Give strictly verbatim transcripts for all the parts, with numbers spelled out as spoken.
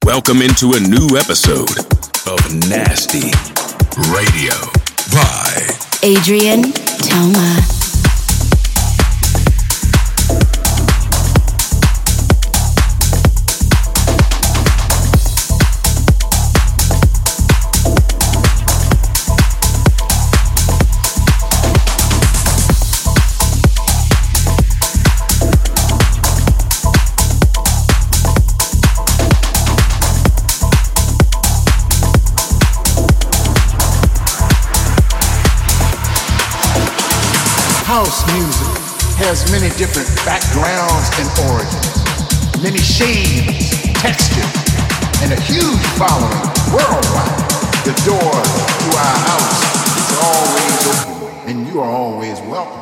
Welcome into a new episode of Nasty Radio by Adrian Toma. House music has many different backgrounds and origins, many shades, textures, and a huge following worldwide. The door to our house is always open, and you are always welcome.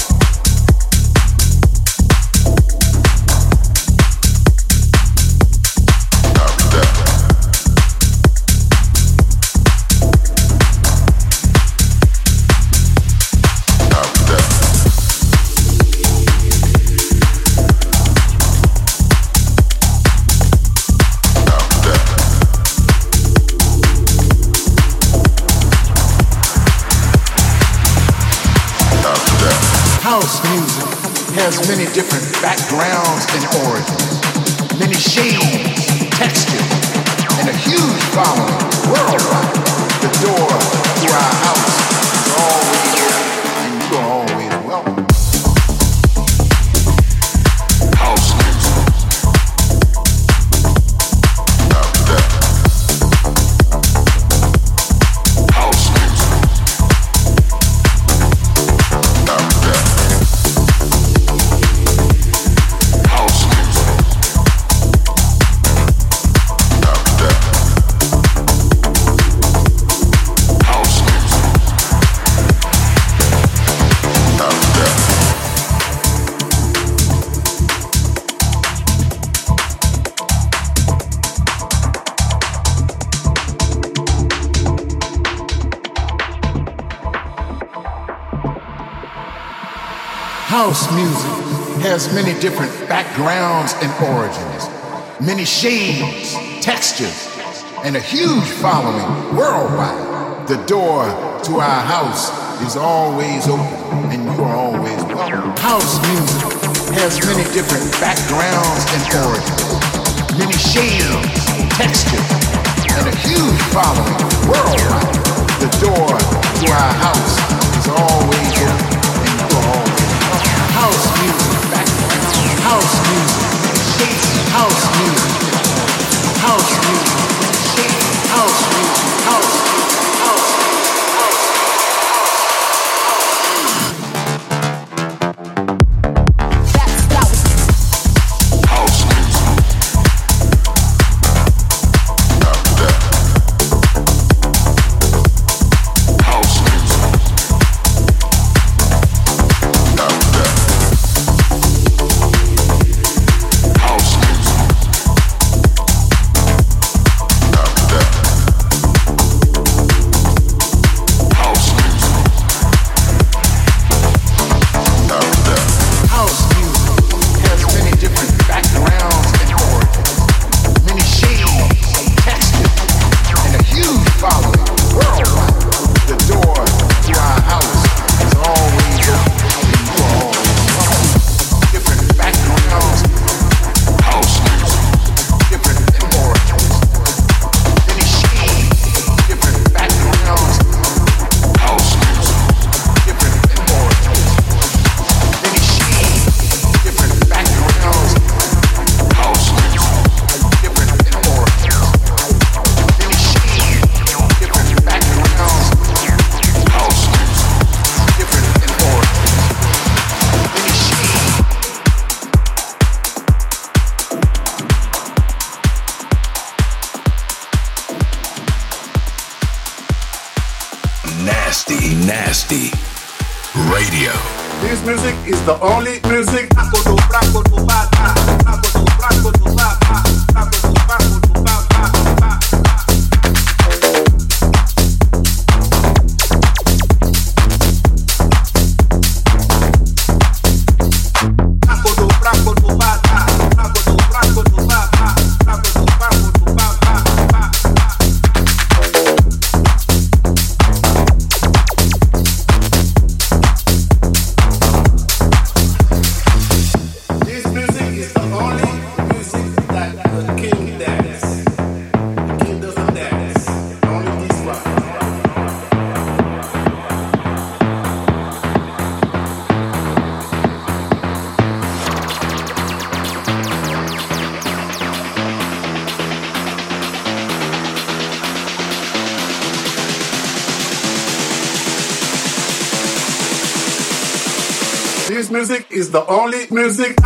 House music has many different backgrounds and origins, many shades, textures, and a huge following worldwide. The door to our house is always open, and you are always welcome. House music. After that. House music. After that. House music has many different backgrounds and origins, many shades, textures, and a huge following worldwide. The door to our house is always open, and you are always welcome. House music has many different backgrounds and origins, many shades, textures, and a huge following worldwide. The door to our house is always open, and you are always house music, background, house music, house music, house music, house music, house music, house music, house music. Nasty, Nasty Radio. This music is the only music. Bye. This music is the only music.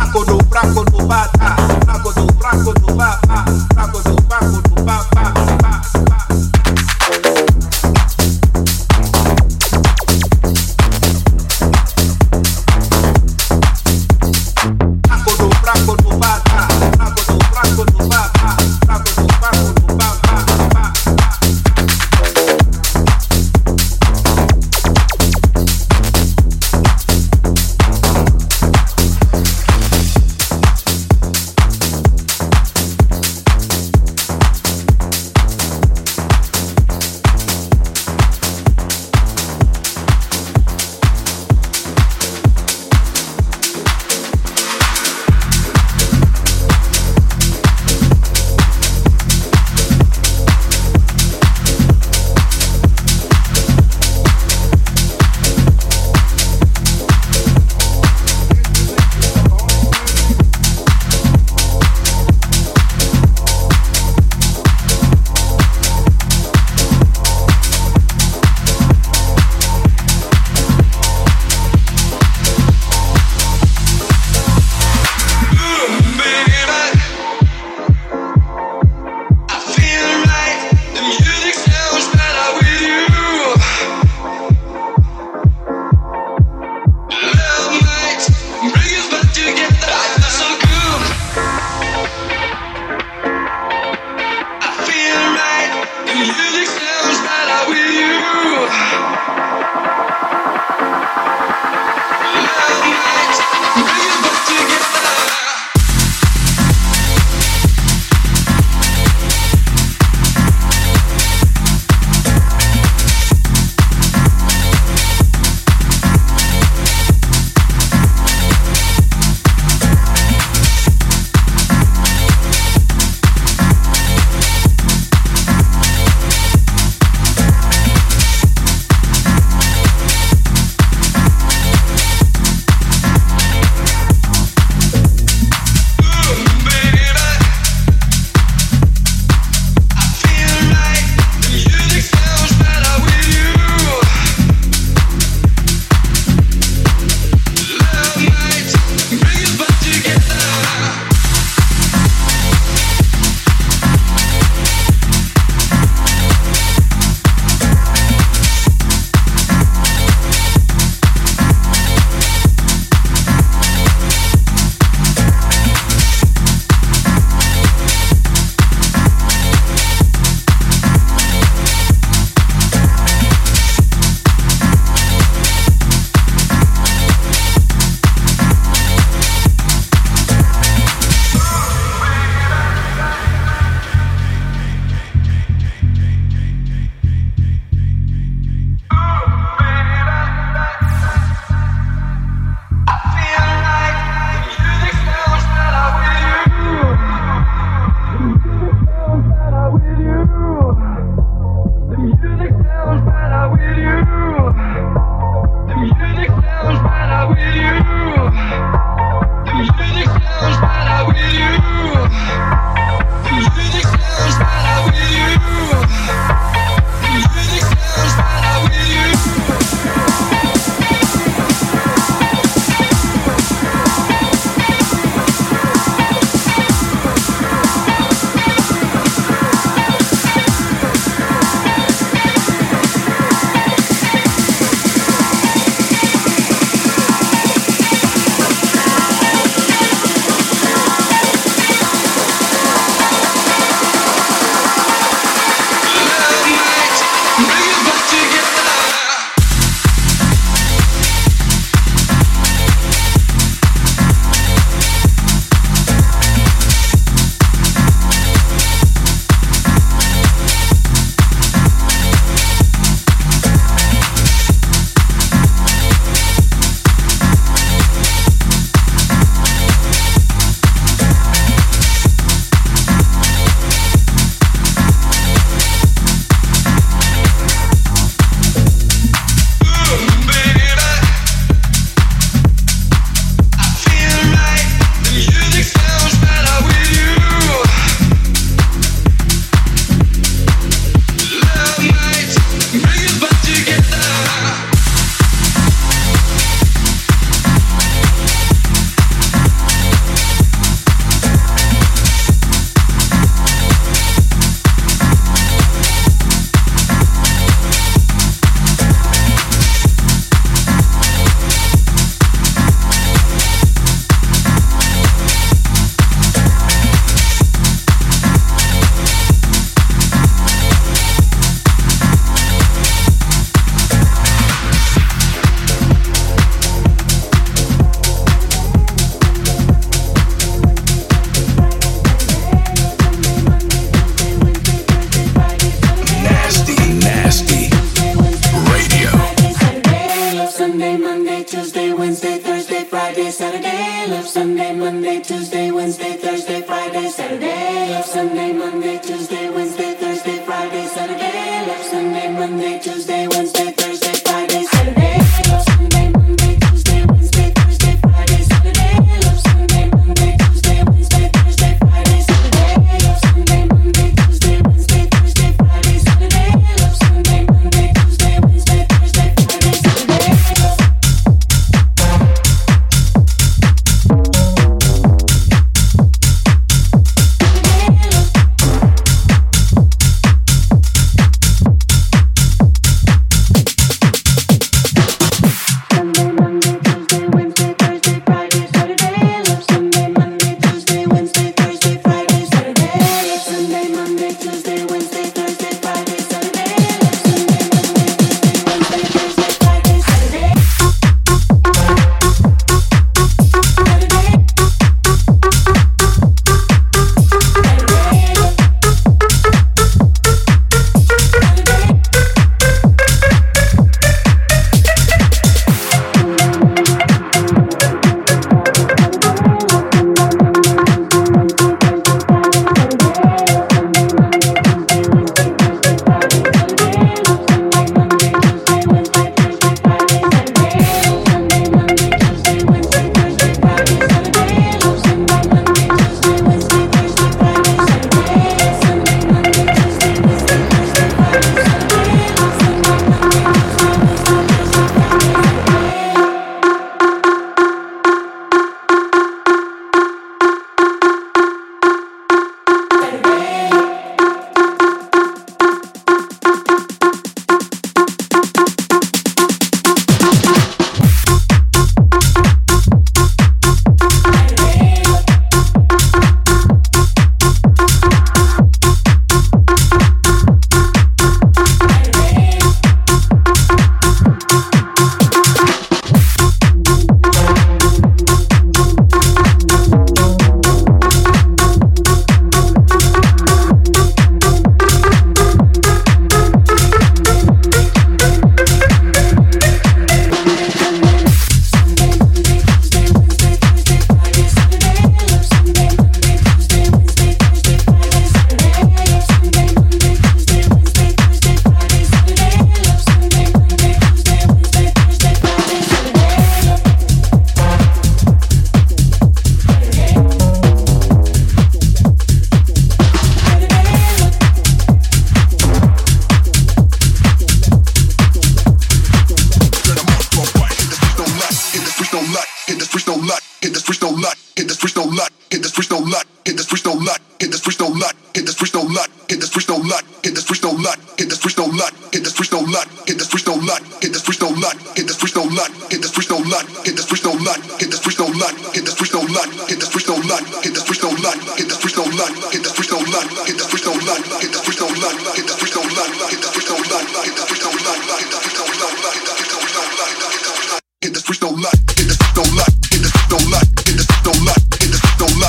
Friday, Saturday, love Sunday, Monday, Tuesday, Wednesday, Thursday, Friday, Saturday, love Sunday, Monday, Tuesday, Wednesday, Thursday, Friday, Saturday, love Sunday, Monday, Tuesday, Wednesday, Thursday, Friday, Saturday, love Sunday, Monday, Tuesday, Wednesday, Thursday, Friday, Saturday, love Sunday, Monday, Tuesday, Wednesday, Thursday, Friday, Saturday, love Sunday, Monday, Tuesday, Wednesday, Thursday, Friday, Saturday, love Sunday, Monday, Tuesday, Wednesday, Thursday, Friday, Saturday.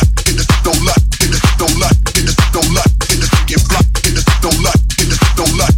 Don't lie.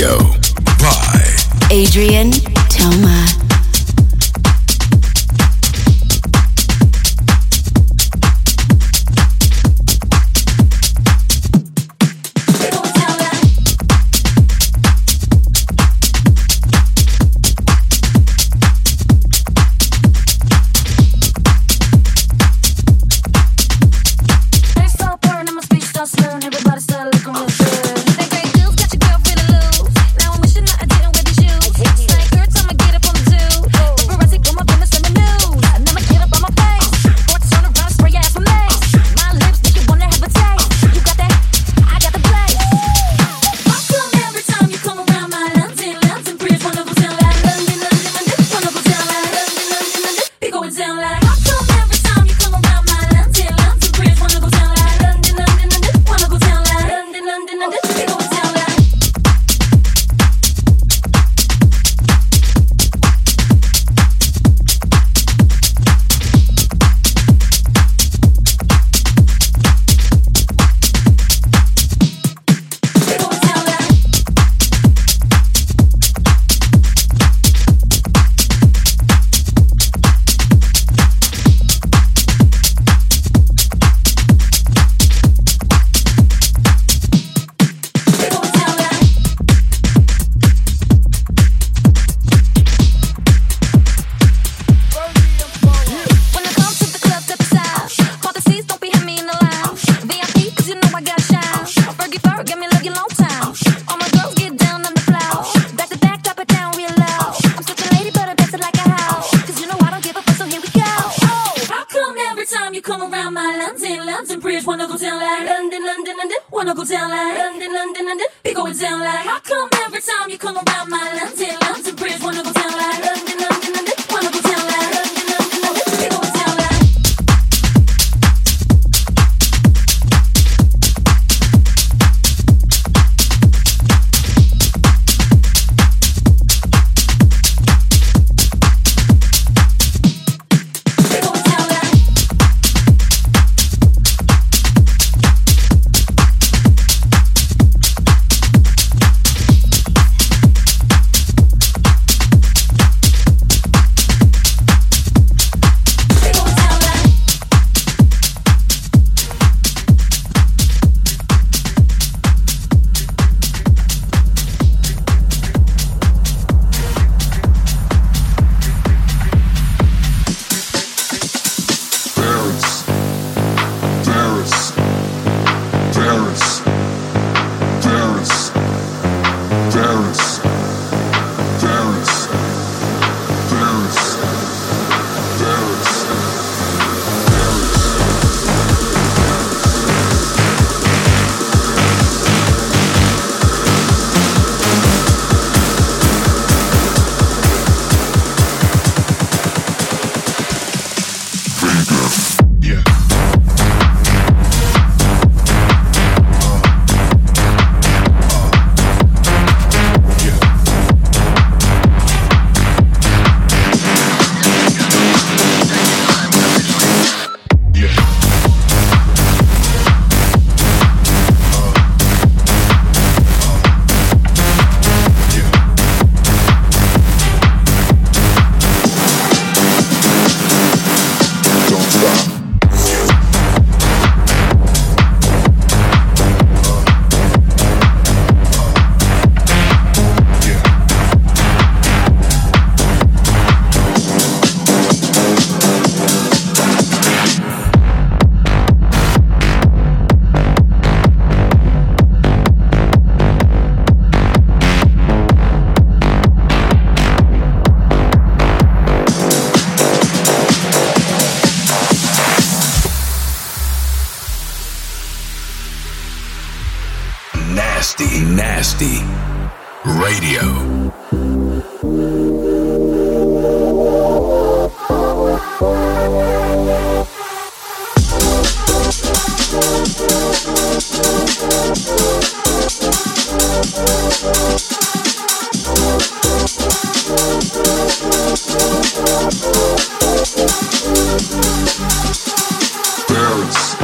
Radio by Adrian Toma. Nasty Radio. Paris,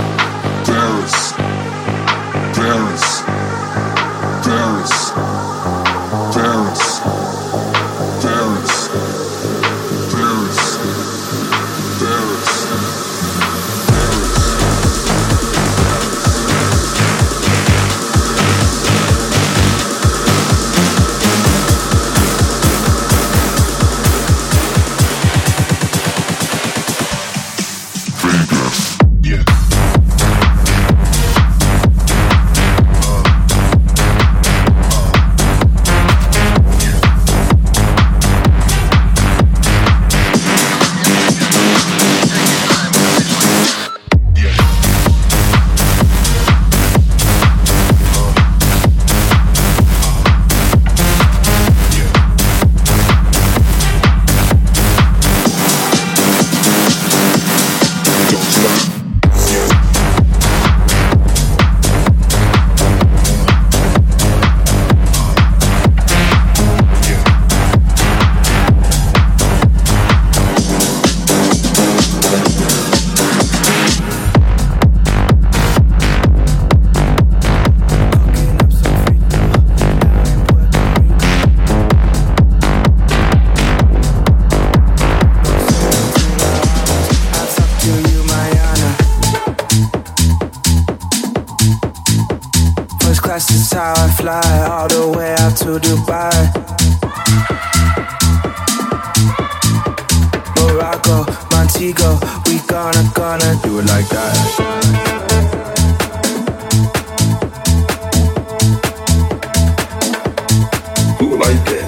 Paris, Paris, Paris. is how I fly all the way out to Dubai. Morocco, Montego, we gonna, gonna do it like that. Who like that?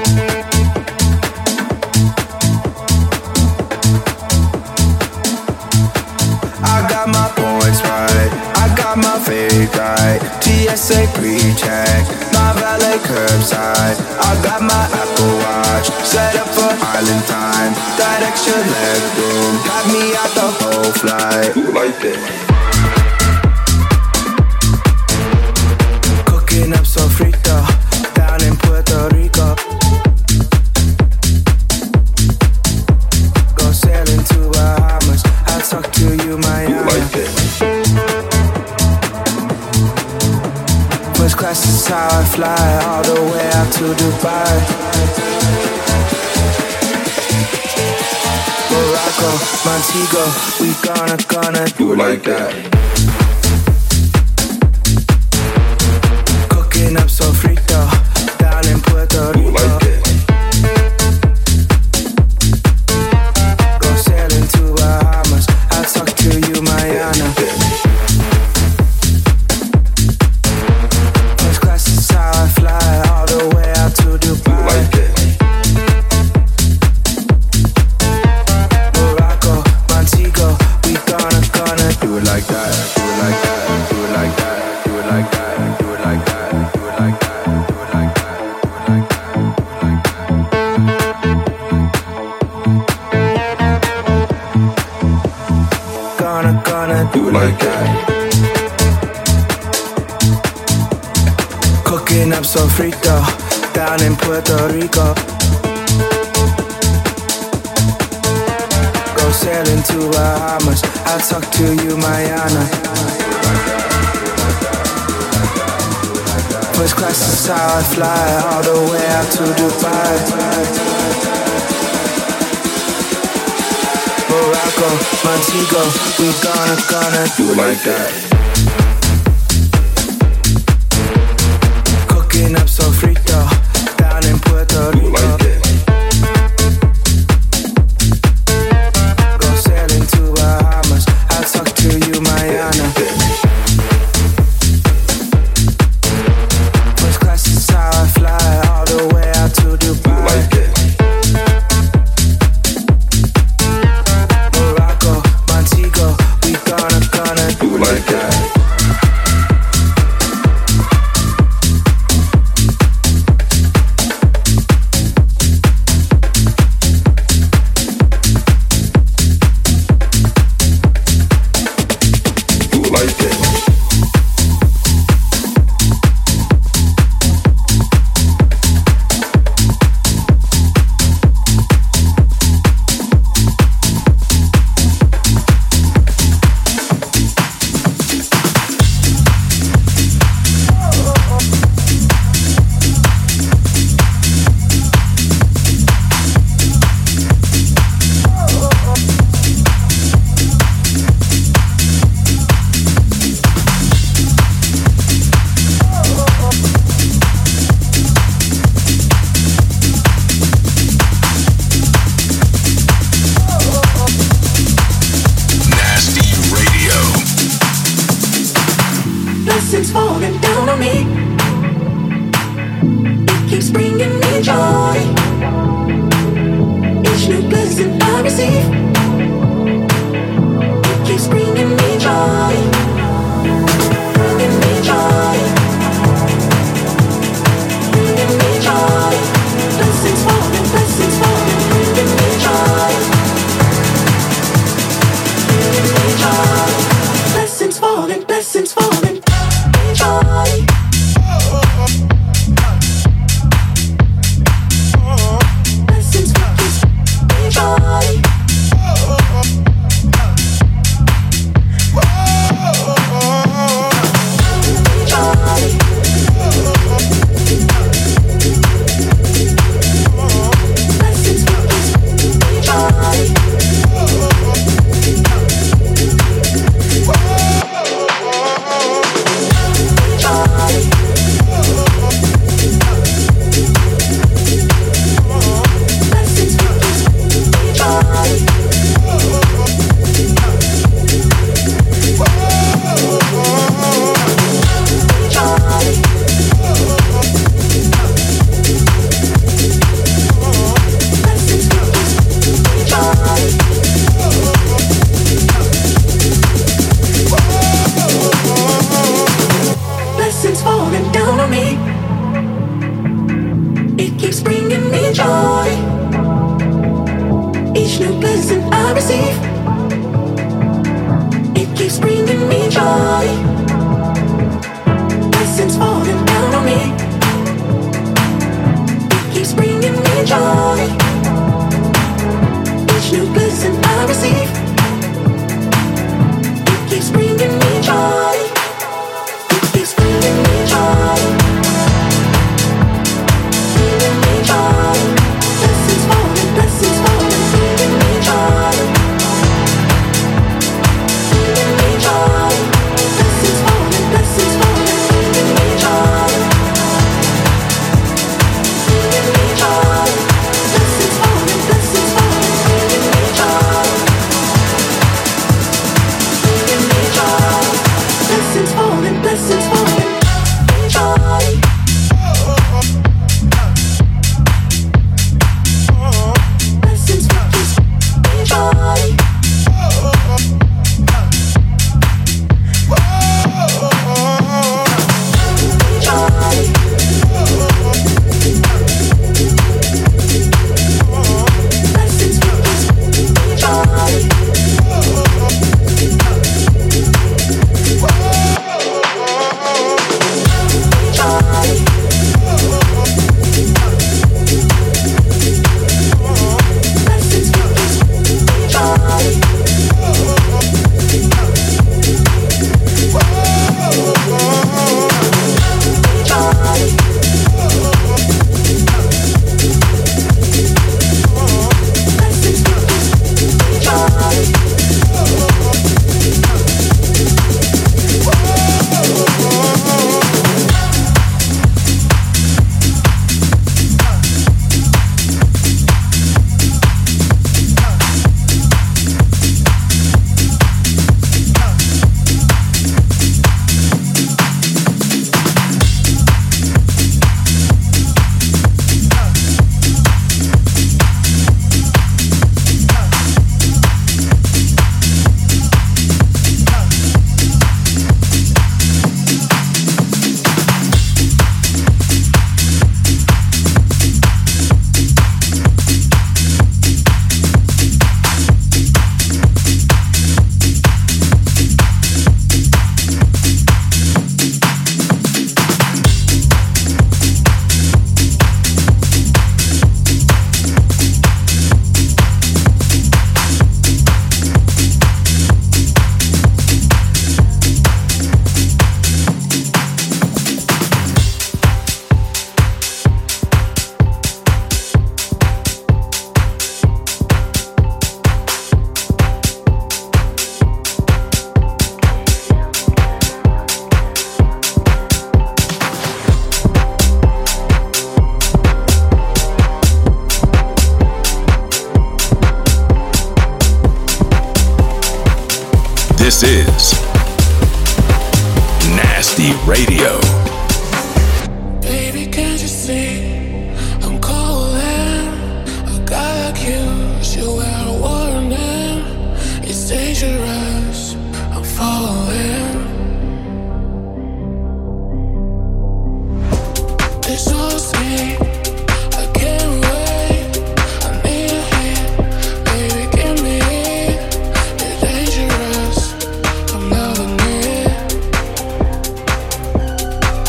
I got my points right, I got my fake right. T S A pre-check, my valet curbside. I got my Apple Watch, set up for island time. That extra leg room, got me out the whole flight. Who like that? Cooking up sofrito, down in Puerto Rico. Go sailing to Bahamas, I'll talk to you, Miami. Who like that? First class is how I fly all the way out to Dubai. Morocco, Montego, we gonna, gonna do it like that. Cooking up sofrito, down in Puerto Rico. Who like that? Go sailing to Bahamas, I'll talk to you, Miami. First class is how I fly all the way out to Dubai. Who like that? Morocco, Montego, we gonna, gonna do it like that. Do it like that, do it like that, do it like that, do it like that, do it like that, do it like that, do it like that. Gonna, gonna do it like that. Cooking up sofrito, down in Puerto Rico. Go sailing to Bahamas, I'll talk to you, Miami. First class is how I fly all the way out to Dubai. Morocco, Montego, we gonna, gonna Do it like that. Cooking up sofrito, down in Puerto Do it Rico. like that. Go sailing to Bahamas, I'll talk to you, Miami. First class is how I fly all the way out to Dubai. Do it like that. Morocco, Montego, we gonna, gonna Do it like that. Do it like that. Nasty Radio. Blessings falling down on me. It keeps bringing me joy. Each new blessing I receive, it keeps bringing me joy. Bringing me joy. Bringing me joy. Blessings falling, blessings falling, bringing me joy. Bringing me joy. Blessings falling, blessings falling, joy. Blessings falling, joy. I receive. It keeps bringing me joy. Blessings falling down on me. It keeps bringing me joy. Each new blessing I receive. It keeps bringing me joy. It keeps bringing me joy. Bringing me joy. Blessings falling, blessings falling, bringing me joy. Bringing me joy. Blessings falling, blessings falling, bringing me joy. Bringing me joy. Blessings falling, blessings falling, bringing me joy. Bringing me joy. Blessings falling, blessings falling, joy. Blessings falling, joy. This is Nasty Radio. Baby, can't you see I'm calling? A guy like you should wear a warning. It's dangerous, I'm falling. It's so sweet, I can't wait. I need a hit, baby, give me it. You're dangerous, I'm loving it.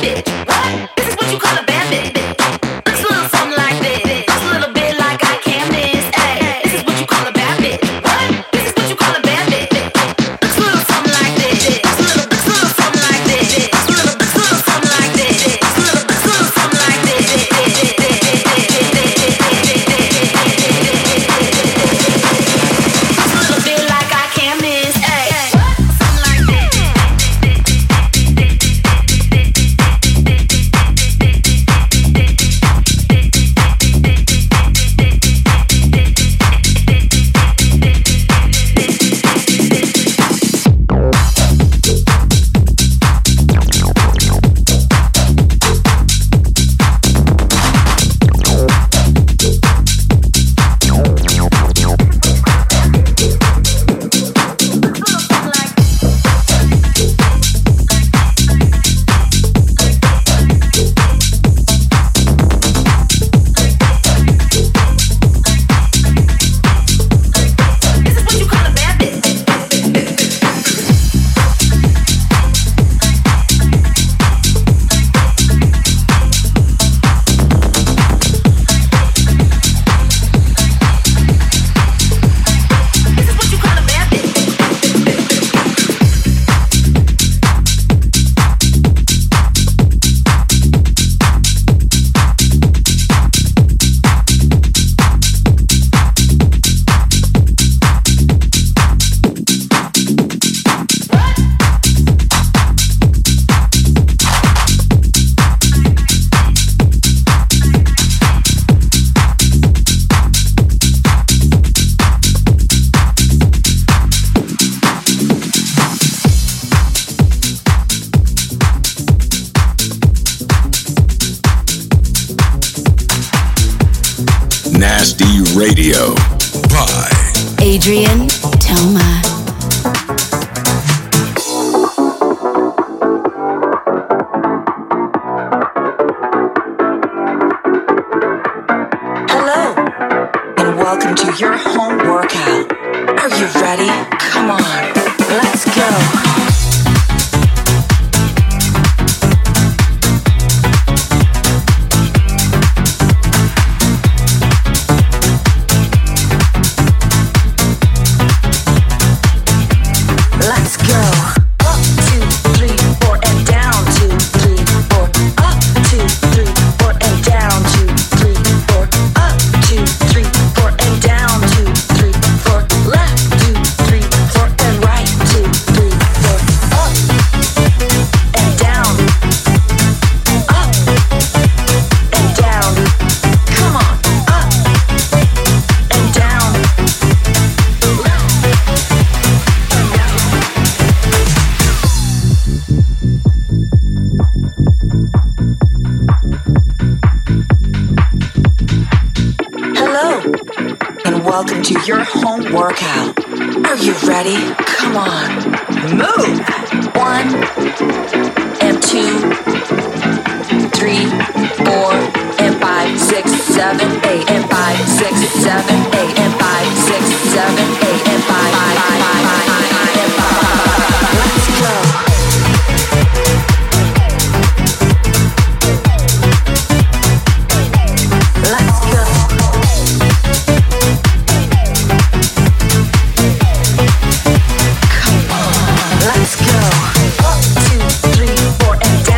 Nasty Radio by Adrian Toma. Hello, and welcome to your home workout. Are you ready? Come on, let's go. Welcome to your home workout. Are you ready? Come on, move. One and two, three, four and five, six, seven, eight and five, six, seven, eight and five, six, seven, eight and five, five, five, five, five, and five. Let's go. Let's go. One, two, three, four, and down.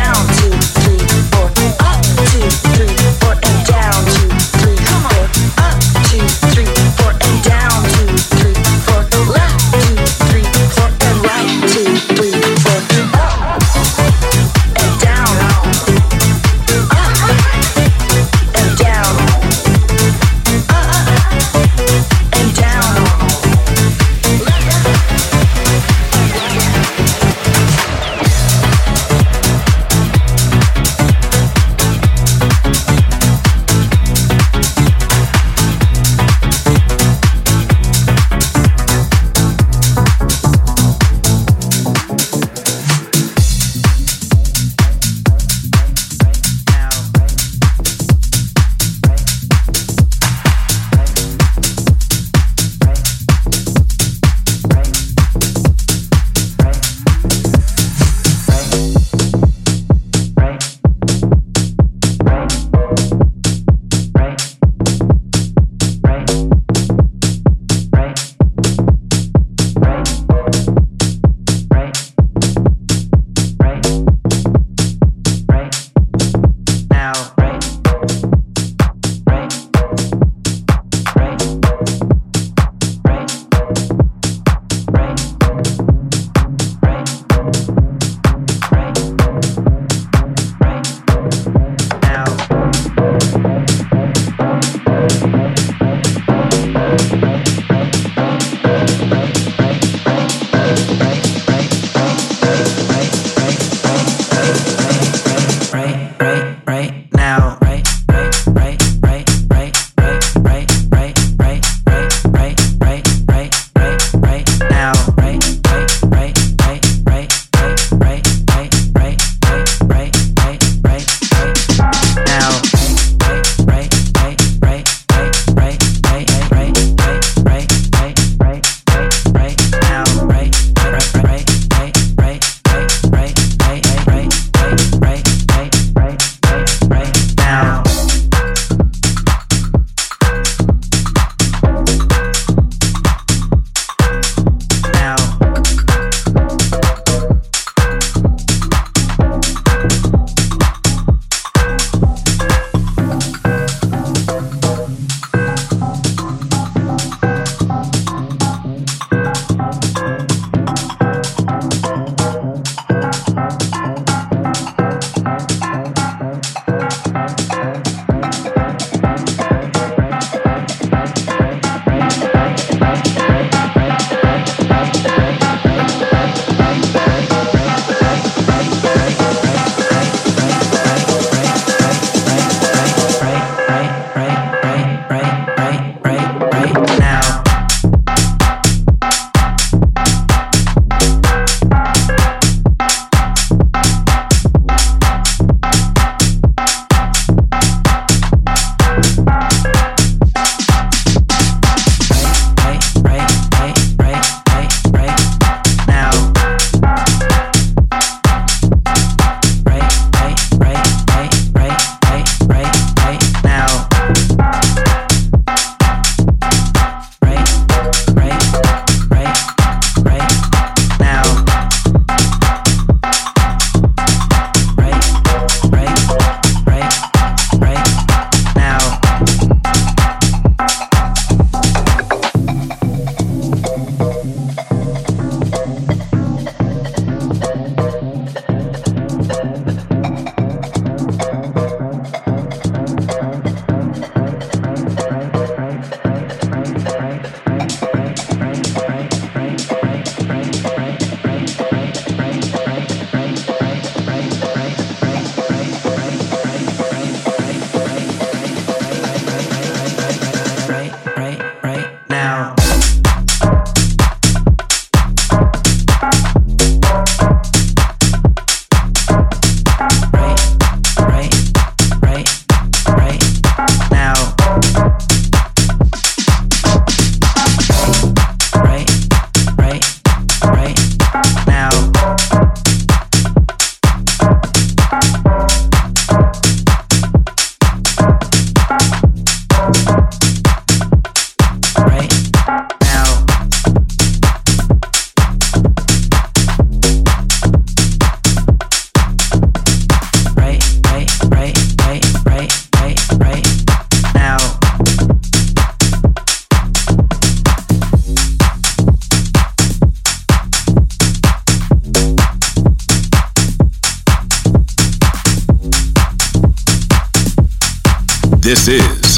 This is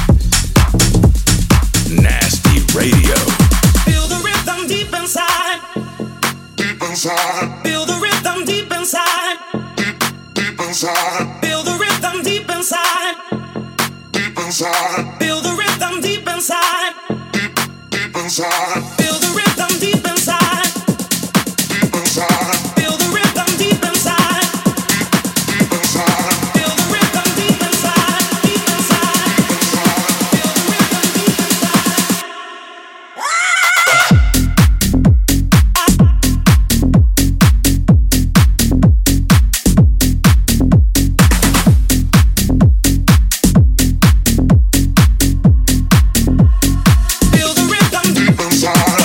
Nasty Radio. Feel the rhythm deep inside. Deep inside. Feel the rhythm deep inside. Deep inside. Feel the rhythm deep inside. Deep inside. Feel the rhythm deep inside. Deep inside. Feel the rhythm deep inside. Deep inside. Feel the rhythm deep inside. Deep inside. Feel the rhythm deep inside. Deep inside. Feel the rhythm deep inside. Feel the rhythm Deep inside.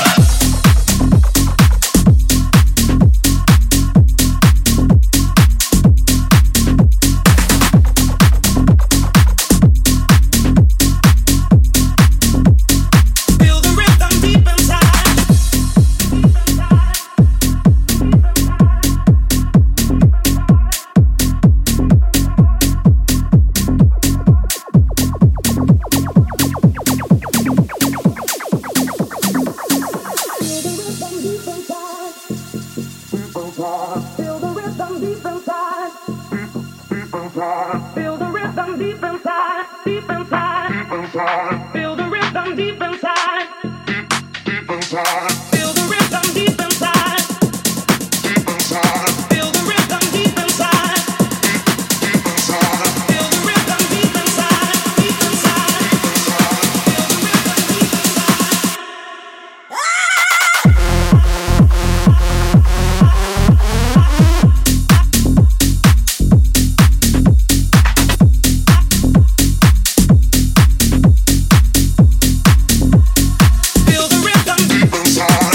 Feel the rhythm deep inside. Feel the rhythm deep inside. Feel the rhythm deep inside. Deep inside. Feel the rhythm deep inside. Deep inside. Feel the rhythm deep inside. Deep inside. Feel the rhythm deep inside. Deep inside. Feel the rhythm deep inside. Deep inside. Feel the rhythm deep inside. Feel the rhythm Deep inside.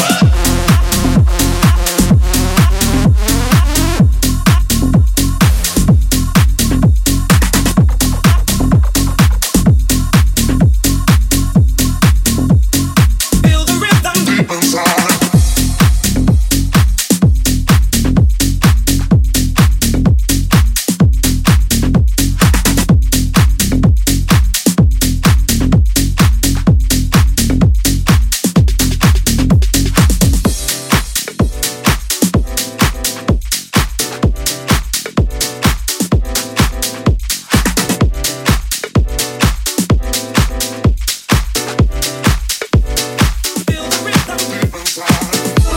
Feel the rhythm Deep inside. Feel the rhythm Deep inside.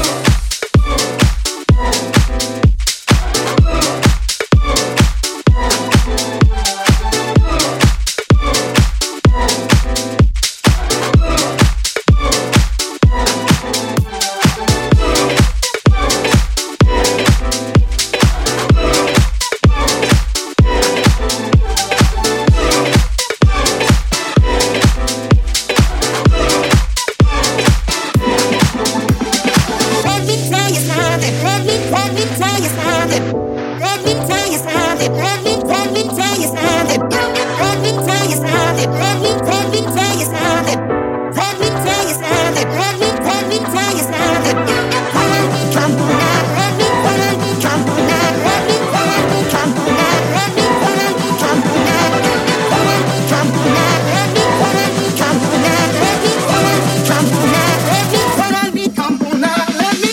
Let me tell you something. Let me, let me tell you something. Let me tell you something. Let me, let me tell you something. Let me tell you something. Let me, let me tell you something. Let me tell you something. Let me, let me tell you something. Let me come on now. Let me, let me come on now. Let me, let me come on now. Let me, let me come on now. Let me come on now. Let me, let me come on now. Let me, let me come on now. Let me, let me come on now. Let me.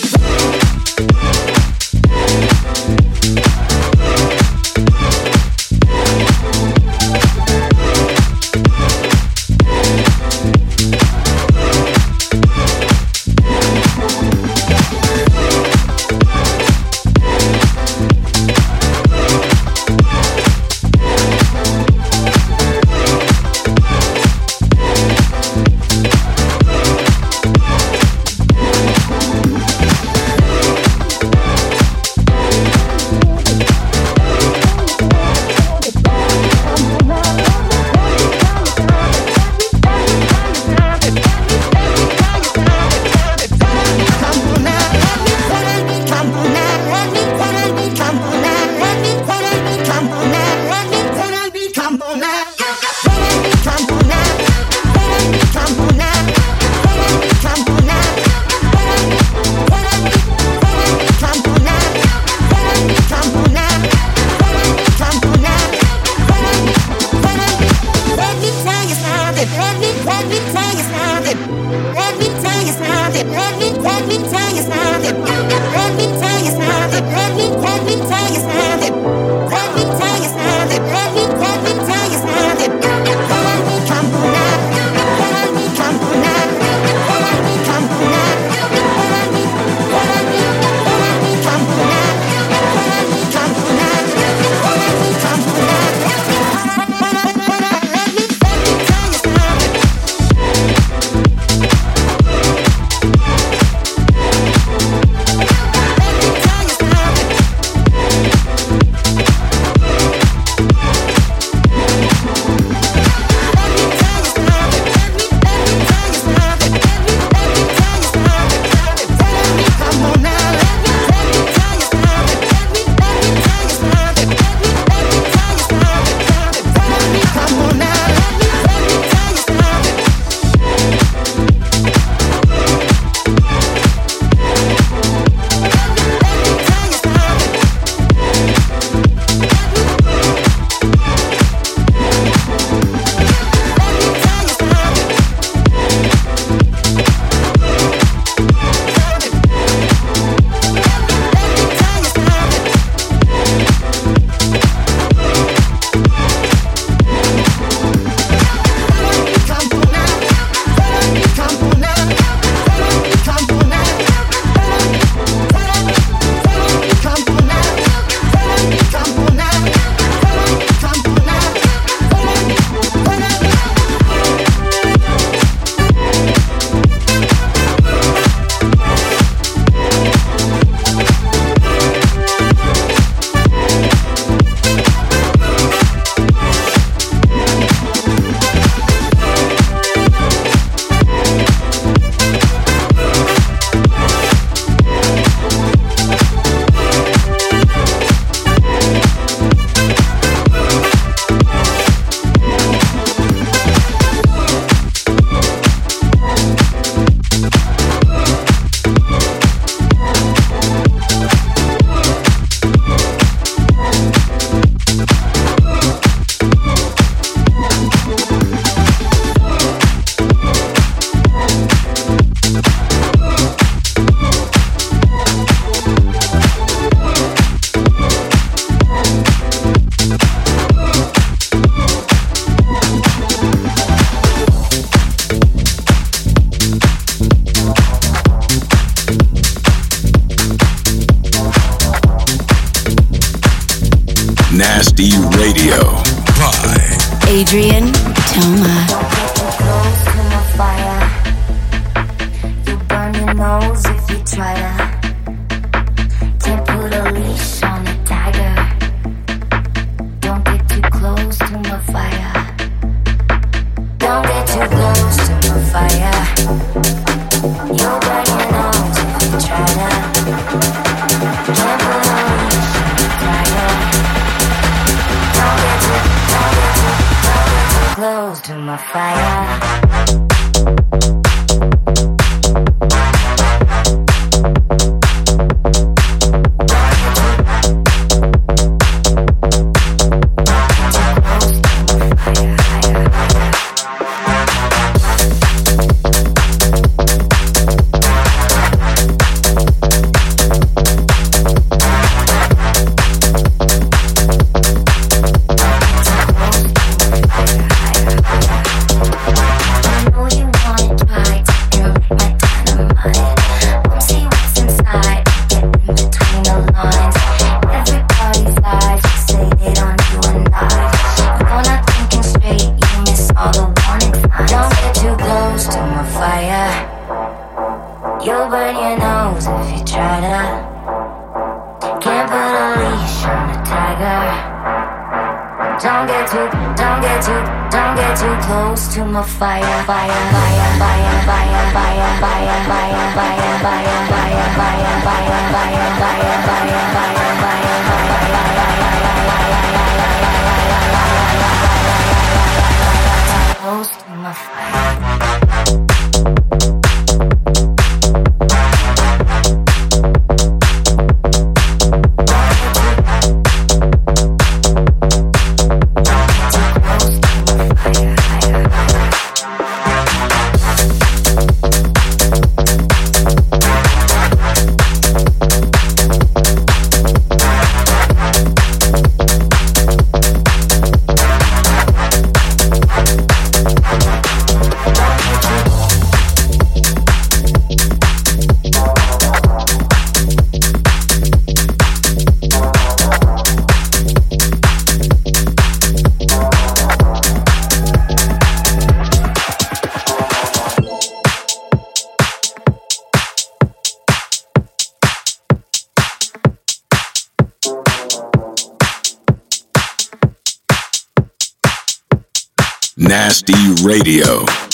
Nasty Radio by Adrian Toma. Close to my fire. You burn your nose if you try to. Can't put a leash on a tiger. Don't get too close to my fire. Don't get too close to my fire. You burn your nose if you try to. Can't put a leash on a tiger. Don't get too, don't get too, don't get too close to my fire. Fire, fire, fire, fire, fire, fire, fire, fire, fire, fire, fire, fire, fire, fire, fire, close to my fire. Nasty Radio.